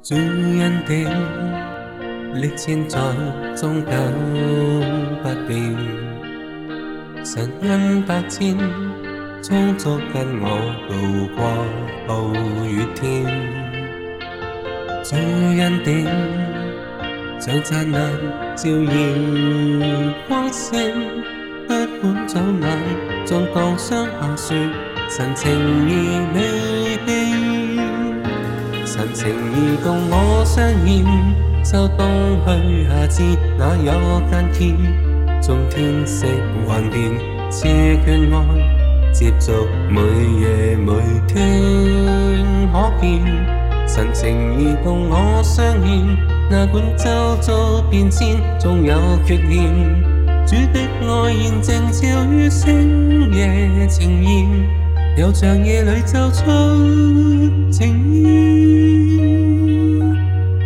主恩典歷千載，終久不變。神恩百千，充足跟我渡過暴雨天。主恩典像燦爛照耀光線，不管早晚，縱降霜下雪，神情意美變。神情意共我相驗，秋冬去夏至，哪有間歇？縱天色幻變，賜眷愛，接續每夜每天可見。神情意共我相驗，哪管周遭變遷，縱有缺陷。主的愛現正照於星夜呈現，又像夜裏奏出情意，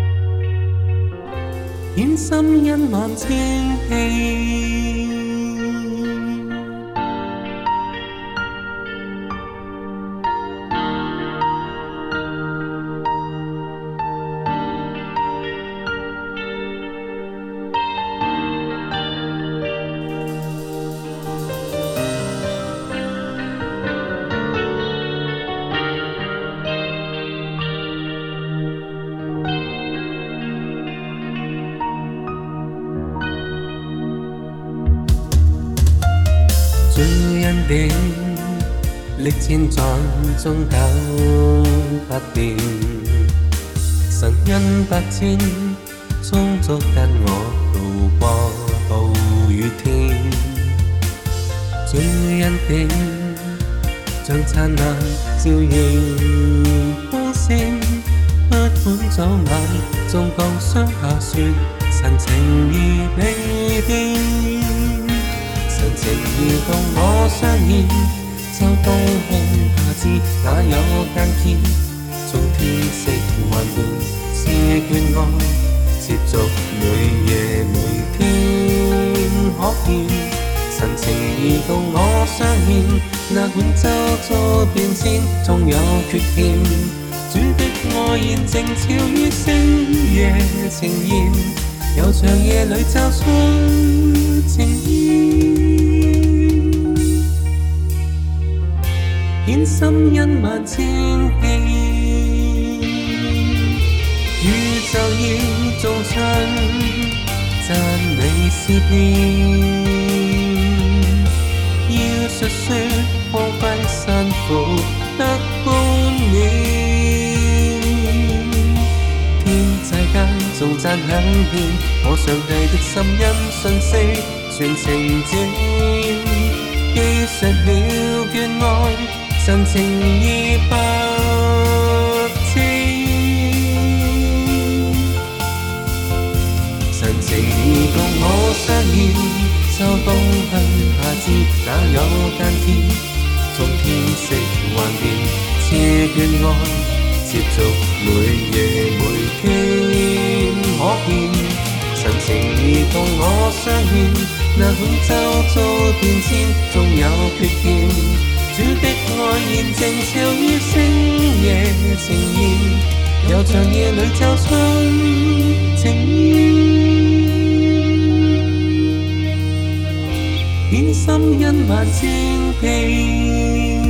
顯心恩萬千遍。主恩典歷千載，終久不變。神恩百千，充足跟我渡過暴雨天。主恩典像燦爛照耀光線，不管早晚，縱降霜下雪，神情意美變。神情意共我相驗，秋冬去夏至，哪有間歇？縱天色幻變，賜眷愛，接續每夜每天可見。神情意共我相驗，哪管周遭變遷，縱有缺陷。主的愛現正照於星夜呈現，又像夜裏奏出情意，顯心恩萬千遍。宇宙要頌唱讚美詩篇，要述說光輝山phủ得冠冕。天際間頌讚響遍，我上帝的心因訊息全情展，記述了眷愛，神情意百千。神情意共我相驗，秋冬去夏至，哪有間歇？縱天色幻變，賜眷愛，接續每夜每天可見。神情意共我相驗，哪管周遭變遷，縱有缺陷。主的愛現正照於星夜呈現，又像夜裏奏出情意，顯心恩萬千遍。